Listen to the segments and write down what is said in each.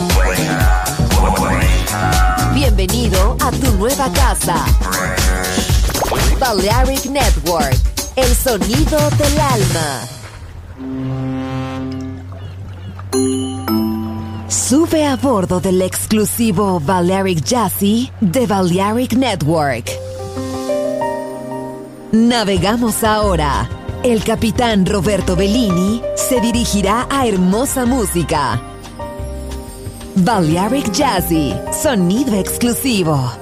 Bienvenido a tu nueva casa. Balearic Network, el sonido del alma. Sube a bordo del exclusivo Balearic Jazzy de Balearic Network. Navegamos ahora. El capitán Roberto Bellini se dirigirá a hermosa música. Balearic Jazzy, sonido exclusivo.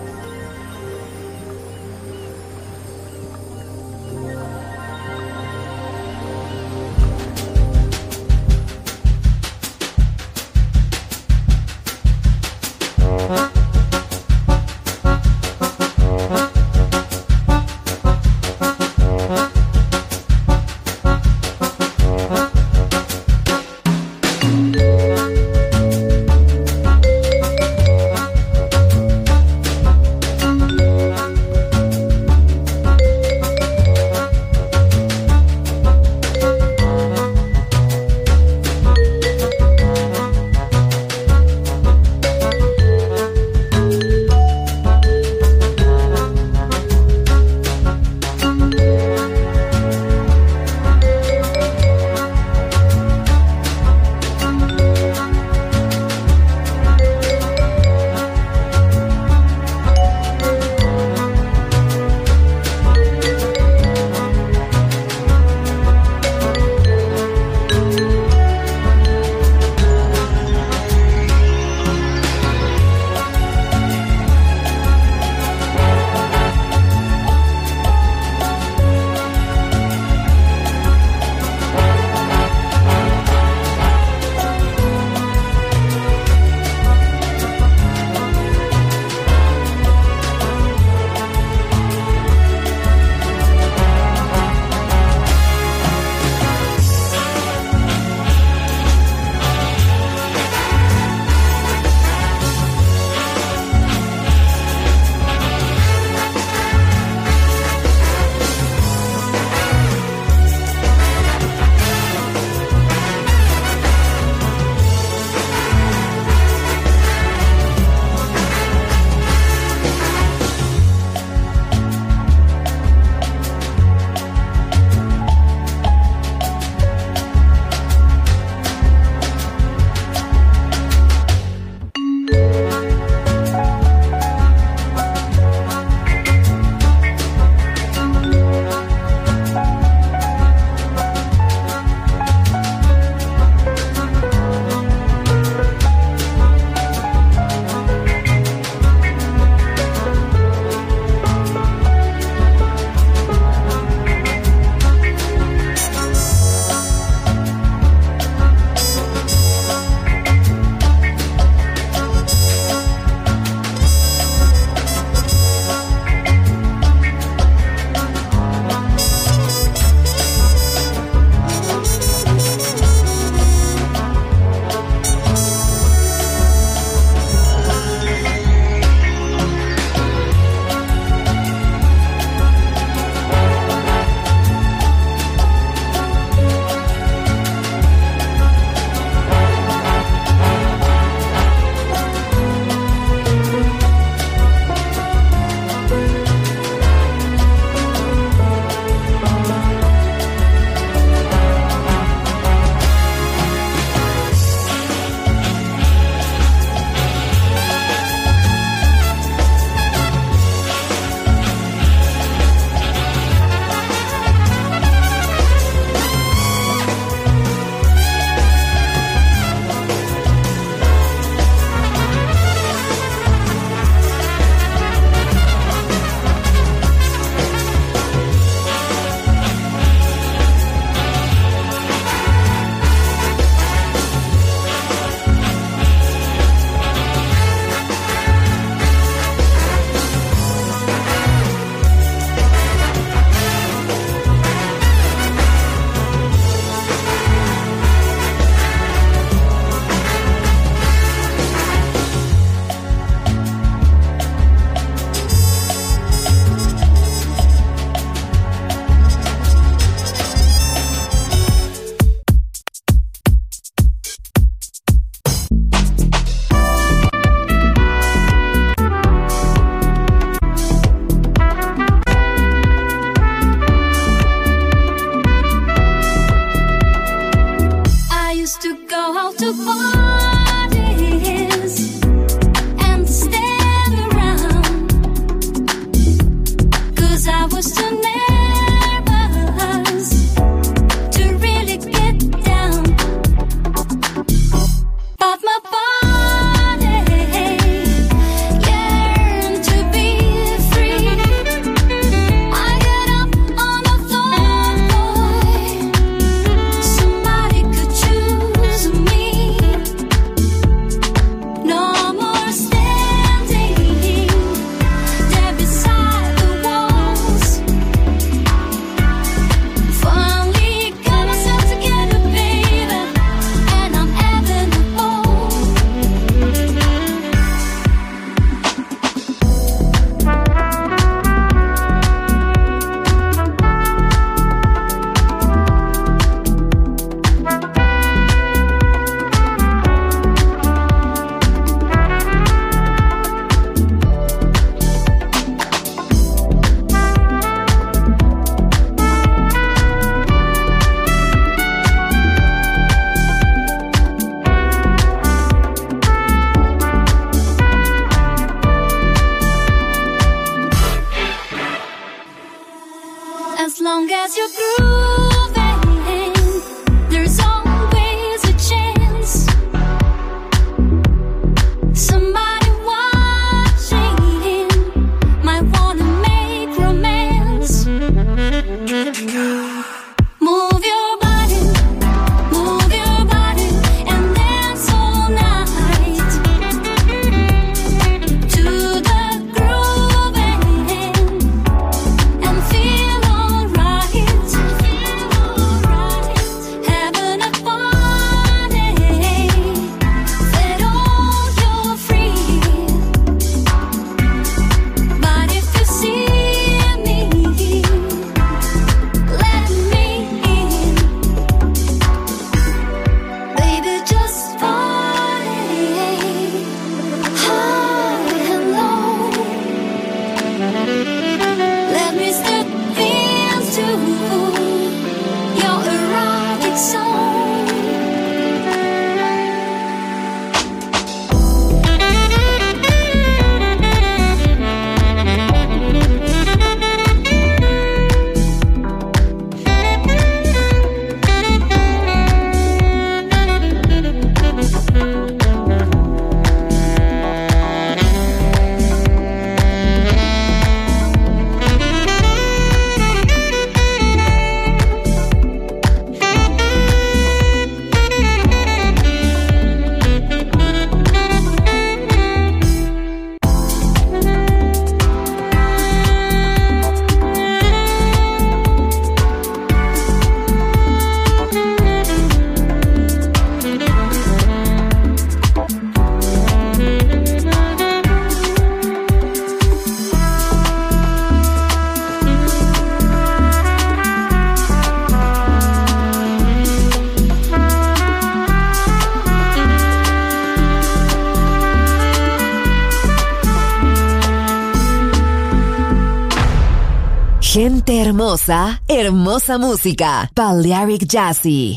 Gente hermosa, hermosa música. Balearic Jazzy.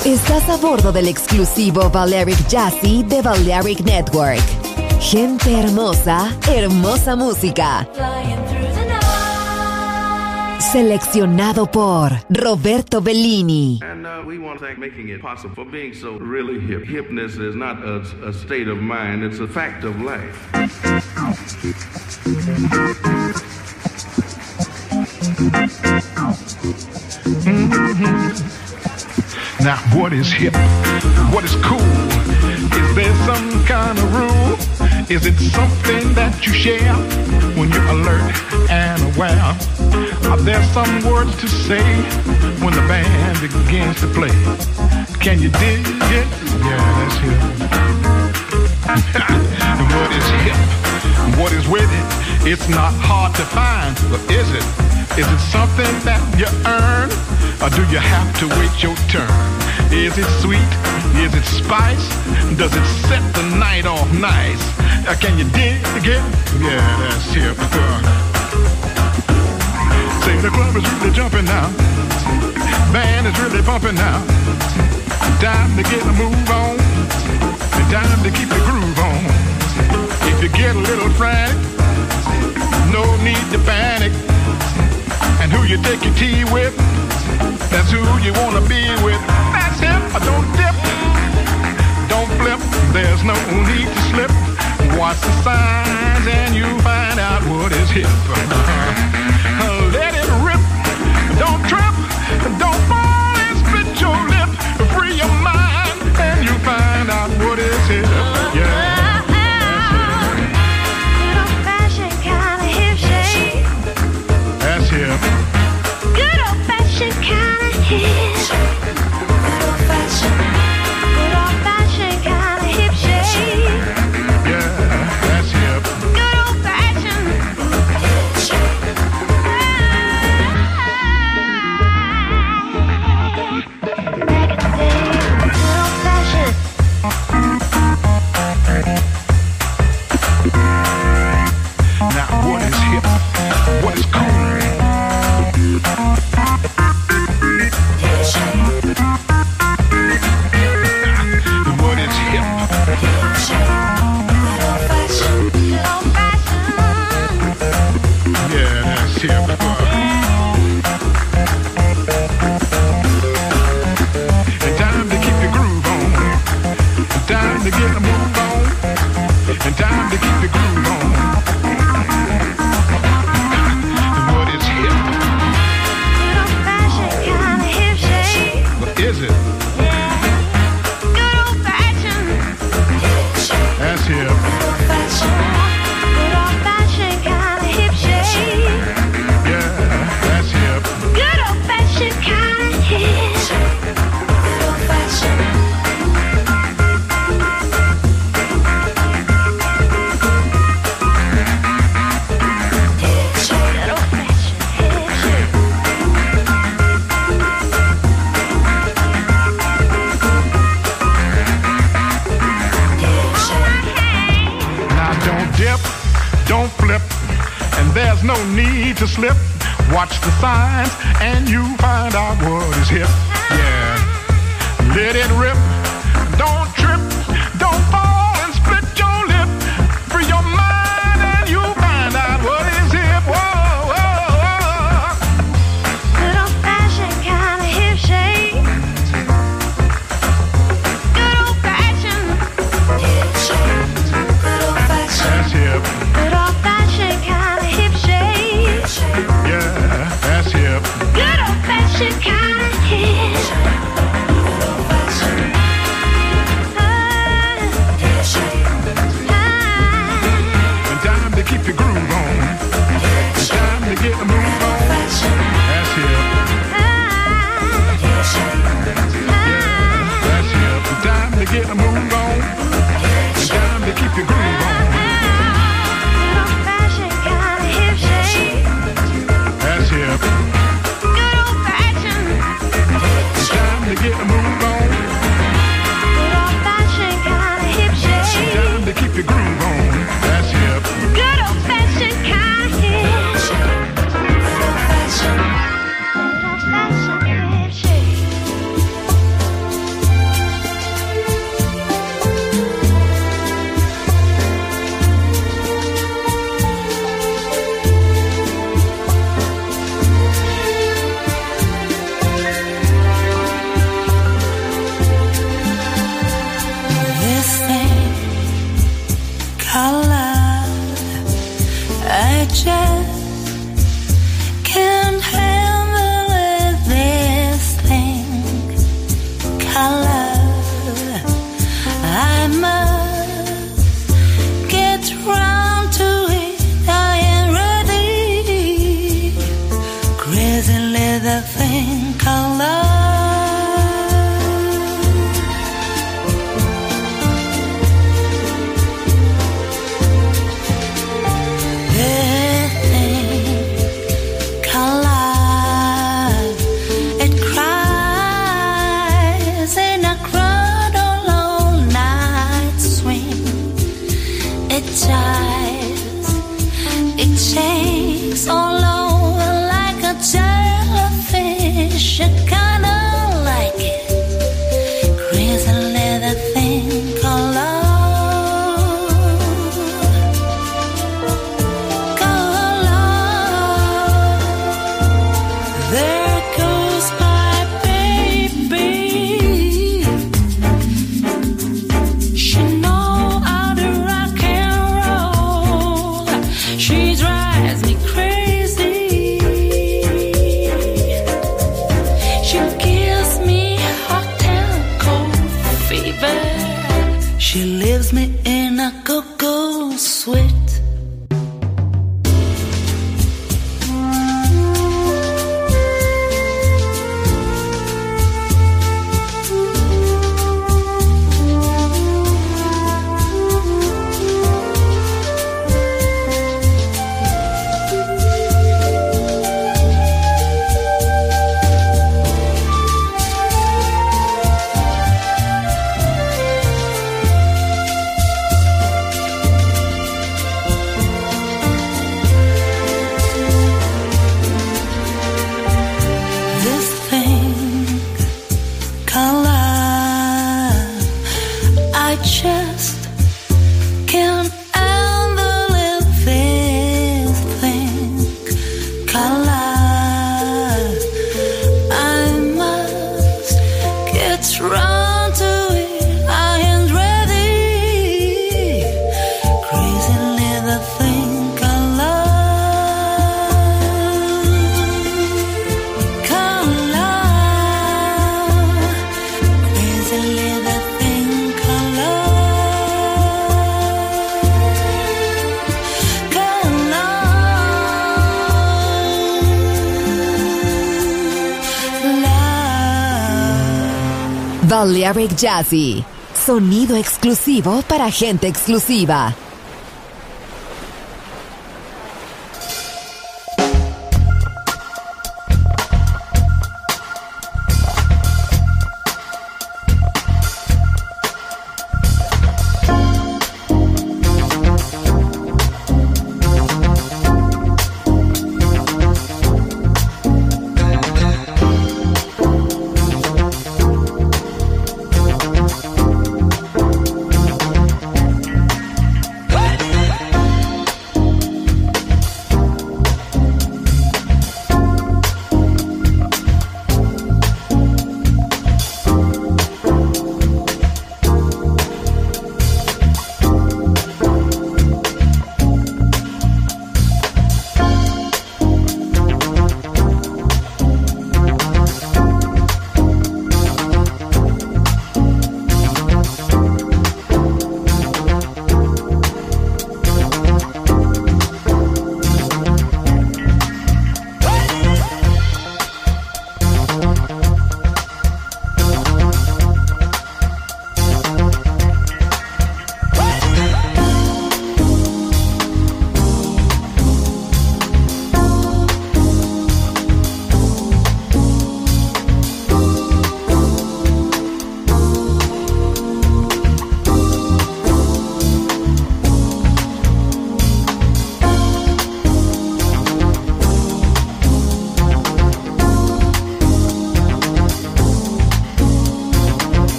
Estás a bordo del exclusivo Balearic Jazzy de Balearic Network. Gente hermosa, hermosa música. Seleccionado por Roberto Bellini. And we want to thank making it possible for being so really hip. Hipness is not a state of mind, it's a fact of life. Now, what is hip? What is cool? Is there some kind of rule? Is it something that you share when you're alert and aware? Are there some words to say when the band begins to play? Can you dig it? Yeah, that's hip. And what is hip? What is with it? It's not hard to find, but is it? Is it something that you earn? Or do you have to wait your turn? Is it sweet? Is it spice? Does it set the night off nice? Can you dig it? Yeah, that's hip. Say the club is really jumping now. Band is really bumping now. Time to get a move on. And time to keep the groove on. If you get a little frantic, no need to panic. And who you take your tea with, that's who you wanna be with. That's hip. Don't dip, don't flip. There's no need to slip. Watch the signs and you find out what is hip. Let it rip. Don't trip. Don't fall and split your lip. Free your mind and you find out what is hip. Yeah. Good old-fashioned kind of hip shake. That's hip. Good old-fashioned kind of hip. Good old-fashioned kind of hip shake. Yeah, that's hip. Good old-fashioned hip shake. Back in the day, good old-fashioned. Now what is hip? What is cool? What is hip? Yeah, that's hip. And time to keep the groove on. And time to get the move on. And time to keep the groove on. And what is hip? Good old-fashioned kind of hip shake. What is it? Good old-fashioned hip shake. That's hip. Good old-fashioned kind of hip shake. Yeah, that's hip. Good old-fashioned kind of hip shake. Good old-fashioned. Hip shake. Good old-fashioned hip shake. Hip shake. Now don't dip, don't flip, and there's no need to slip. Watch the signs and you find out what is hip. Yeah, let it rip. Don't trip, don't fall and split your lip. Free your mind and you find out what is hip. Whoa, whoa, whoa. Good old-fashioned kind of hip shake. Good old-fashioned hip shake. Good old-fashioned. That's hip. Good old-fashioned kind of hip shake. Yeah, that's hip. Good old-fashioned kind of hip shake. Good old-fashioned. Hip shake. And time to keep the groove on. And time to get the move on. That's hip. Hip shake. That's hip. And time to get the move on. And time to keep the groove on. Good old-fashioned kind of hip shake. That's hip. Good old-fashioned. And time to get the move on. Good old-fashioned kind of hip shake. Time to keep the groove on. That's hip. Good old-fashioned kind of hip shake. Good old-fashioned. Good old-fashioned hip shake. color. I must get round to it. I am ready. Crazy leather thing color. It shakes all over like a jellyfish. I kinda like it. Crazy leather thing color. There goes my baby. She knows how to rock and roll. She drives me crazy. She gives me hot and cold fever. She leaves me in a go-go sweat. Balearic Jazzy, sonido exclusivo para gente exclusiva.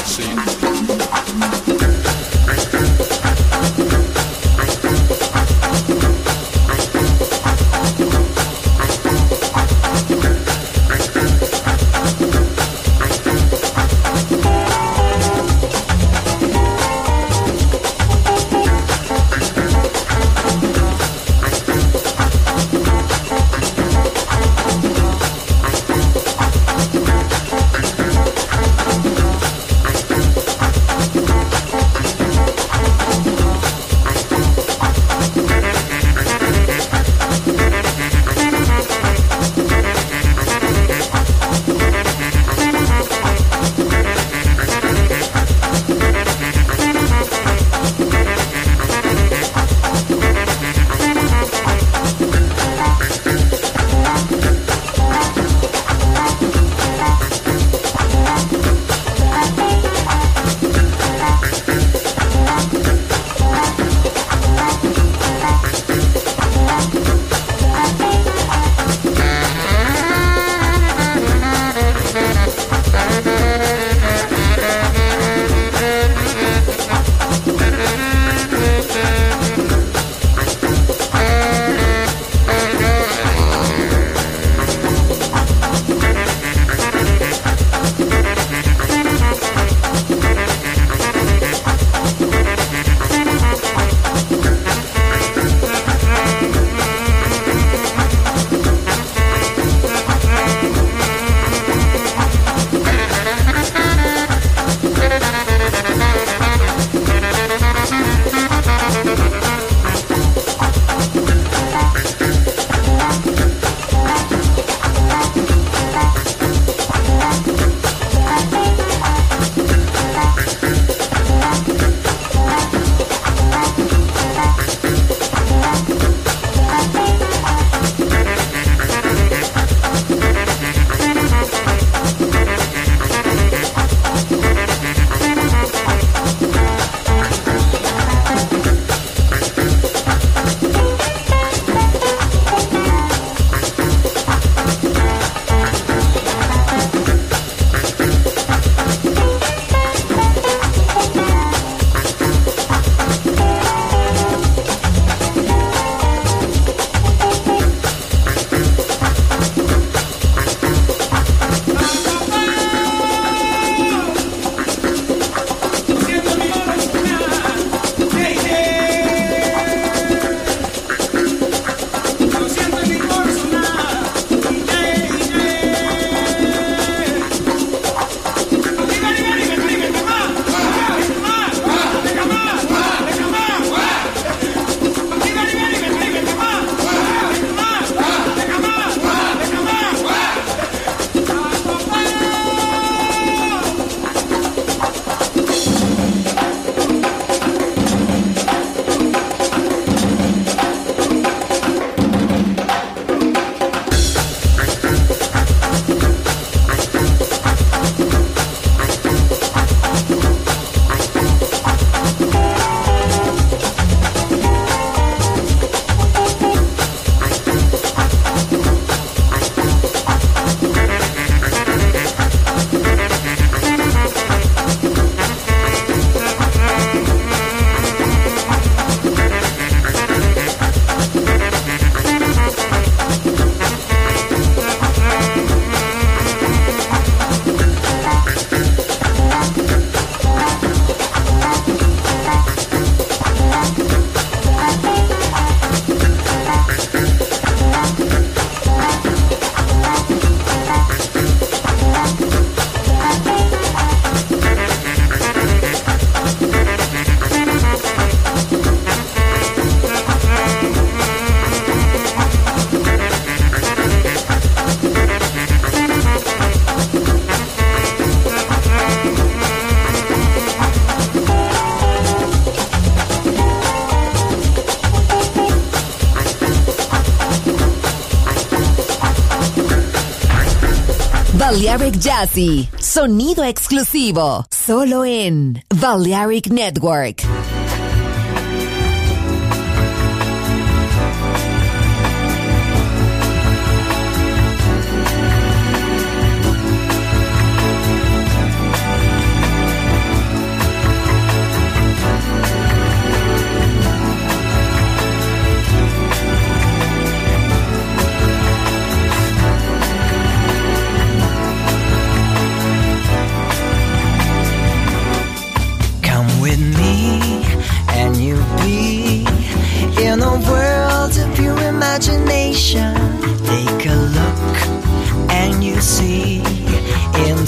Balearic Jazzy, sonido exclusivo, solo en Balearic Network.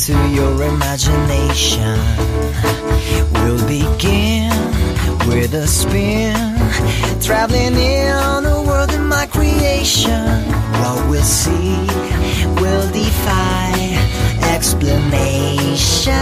to your imagination. We'll begin with a spin, traveling in a world of my creation. What we'll see will defy explanation.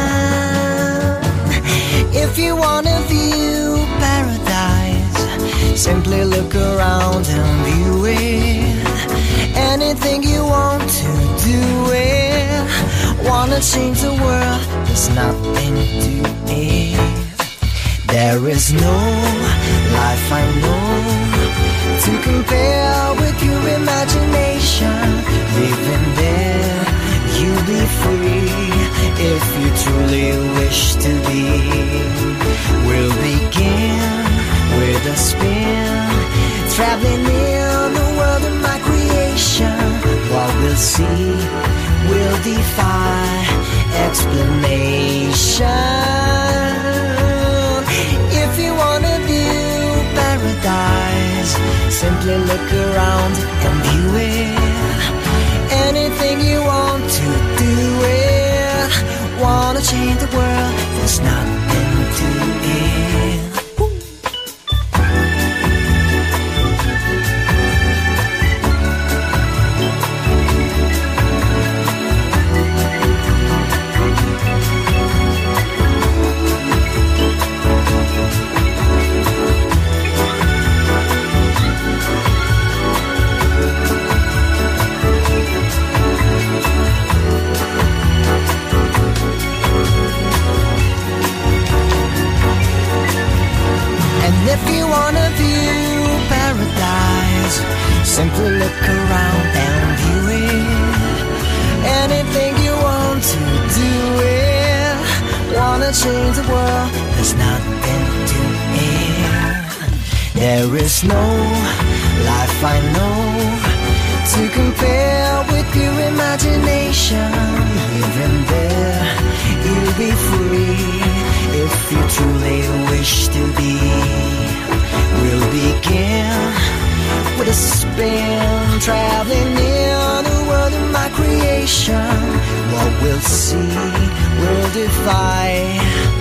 If you wanna view paradise, simply look around and view it. Anything you want to do it. Wanna change the world, there's nothing to it. There is no life I know to compare with your imagination. Living there, you'll be free if you truly wish to be. We'll begin with a spin, traveling in the world of my creation. What we'll see will defy explanation. If you wanna view paradise, simply look around and view it. Anything you want to do it. Wanna change the world, there's nothing to it. If you wanna view paradise, simply look around and view it. Anything you want to do it. Wanna change the world, there's nothing to it. There is no life I know to compare with your imagination. Living there, you'll be free if you truly wish to be. We'll begin with a spin, traveling in the world of my creation. What we'll see will defy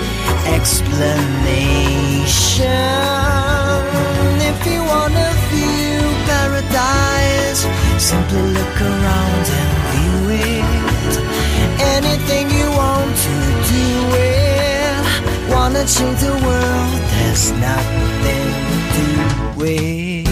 explanation. If you wanna view paradise, simply look around and view it. Anything you want to do it. Wanna change the world, there's nothing to it.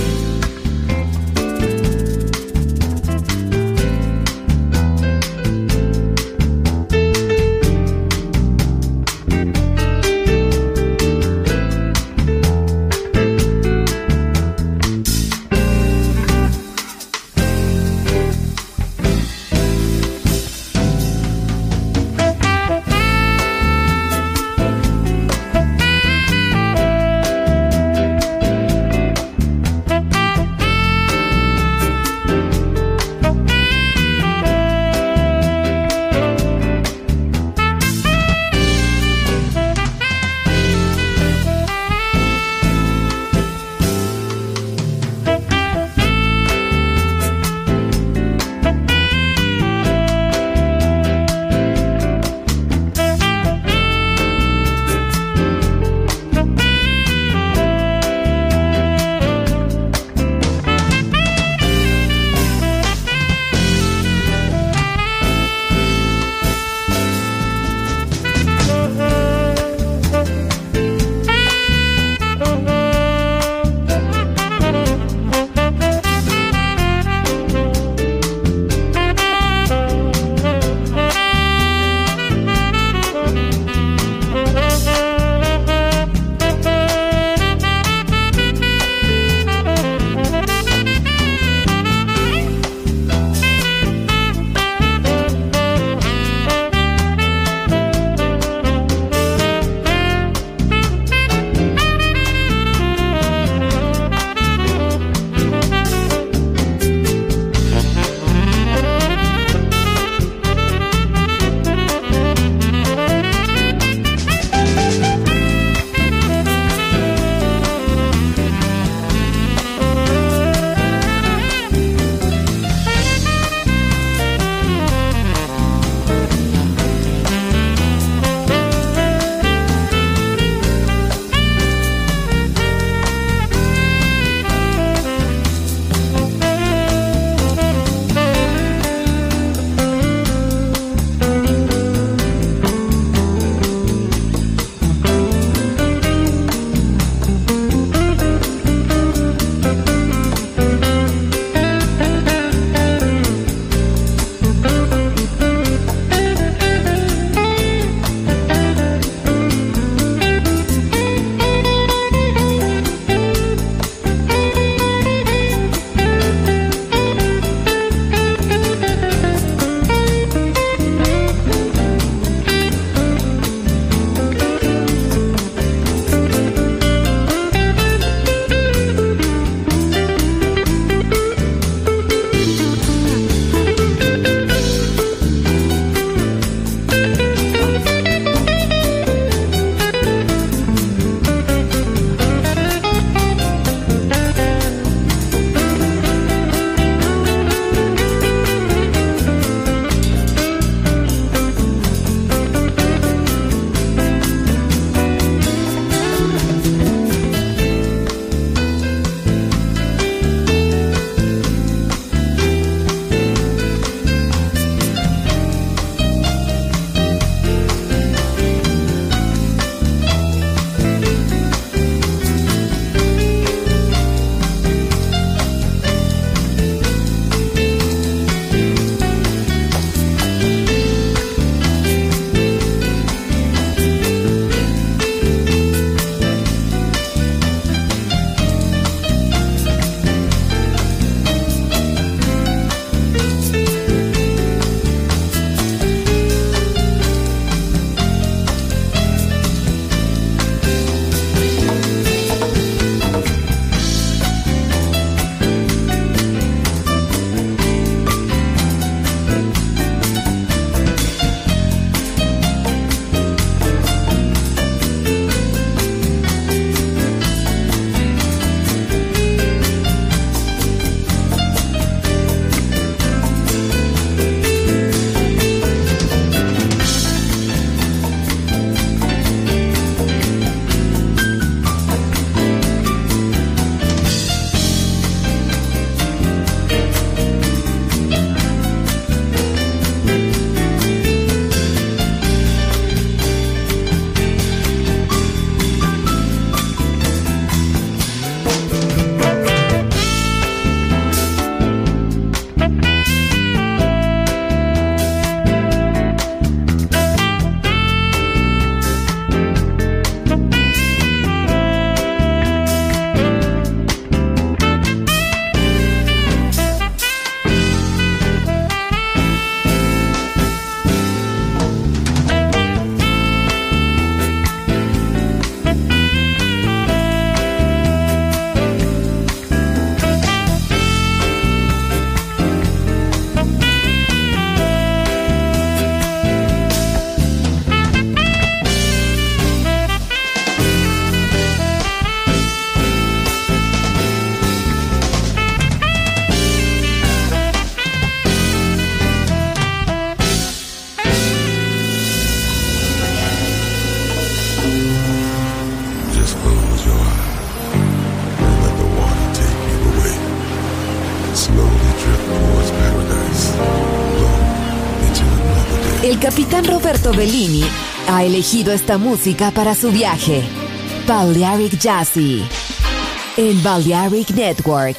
capitán Roberto Bellini ha elegido esta música para su viaje. Balearic Jazzy en Balearic Network.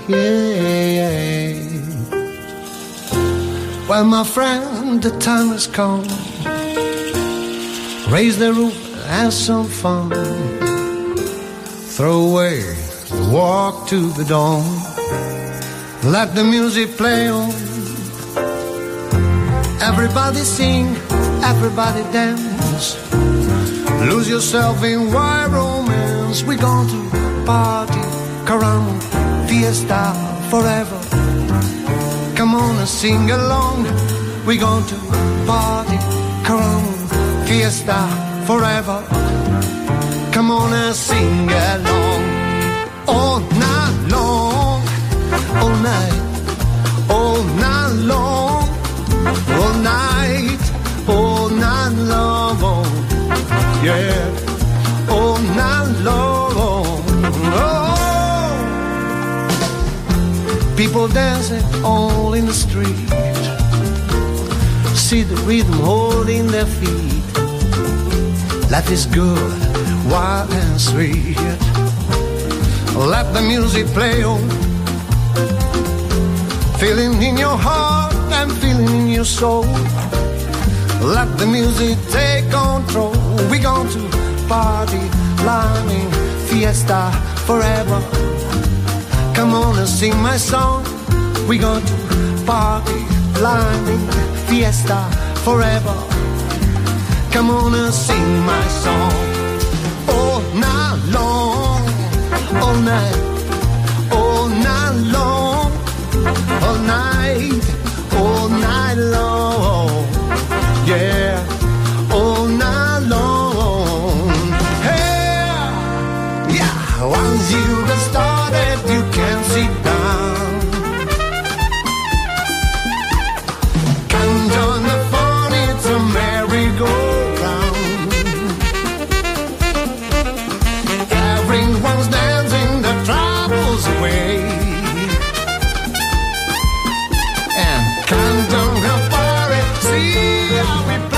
yeah. Well, my friend, the time has come. Raise the roof, have some fun. Throw away the walk to the dawn. Let the music play on. Everybody sing, everybody dance. Lose yourself in wild romance. We're going to party, caramba, fiesta forever. Come on and sing along. We're going to party, caramba, fiesta forever. Come on and sing along. All night long, all night, all night long, all night long, yeah, all night long. Oh. People dancing all in the street. See the rhythm holding their feet. Life is good, wild and sweet. Let the music play on. Feeling in your heart and feeling in your soul. Let the music take control. We're going to party, climbing, fiesta forever. Come on and sing my song. We're going to party, climbing, fiesta forever. Come on and sing my song. All night long, all night, all night long, all night long, yeah, all night long. Hey, yeah, once you get started, you can't sit down. Come join the fun, it's a merry-go-round. Everyone's dancing the troubles away. Come down the party, see how we play.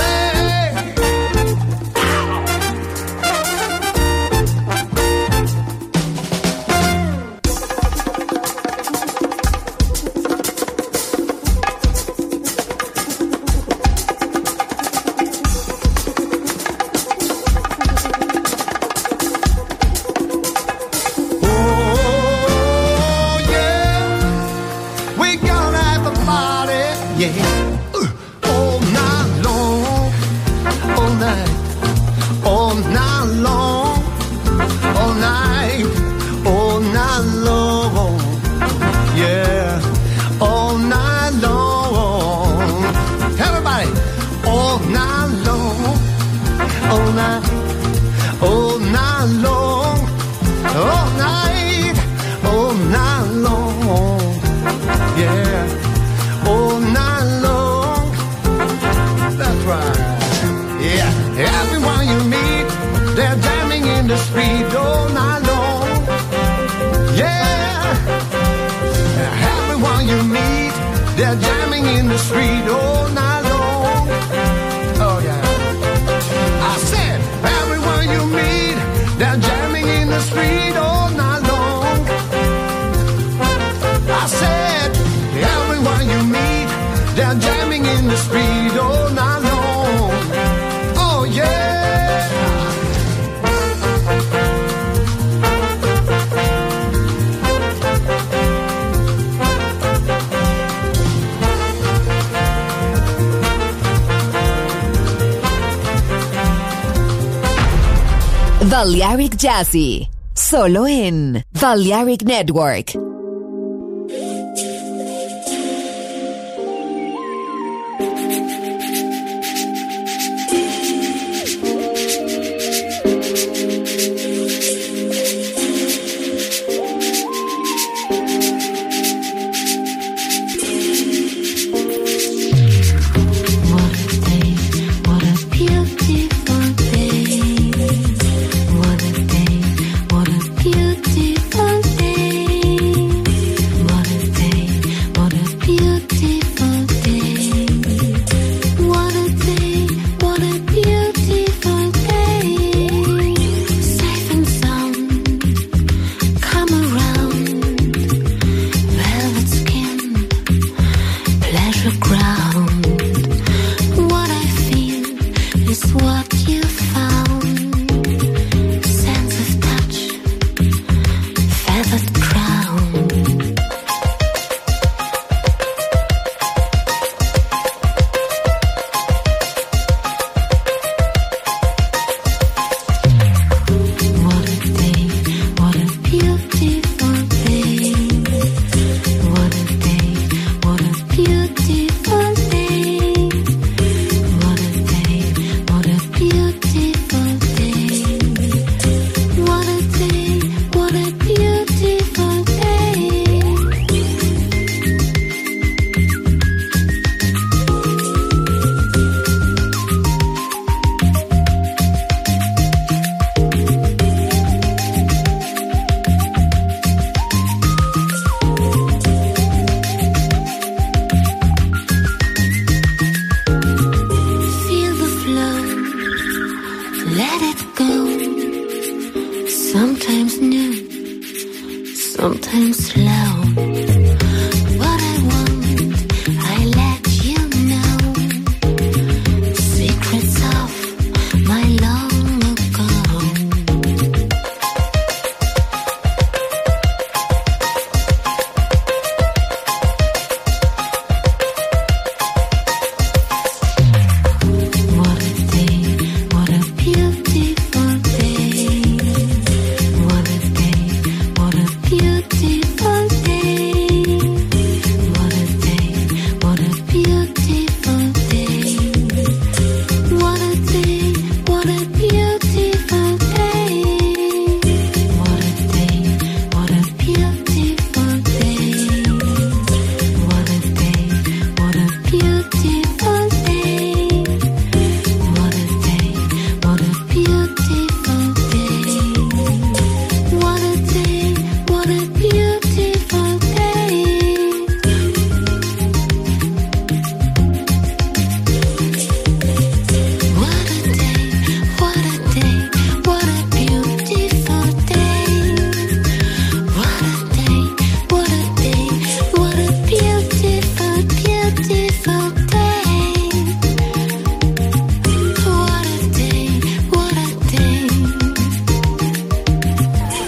Balearic Jazzy, solo en Balearic Network. What a beautiful day. slow.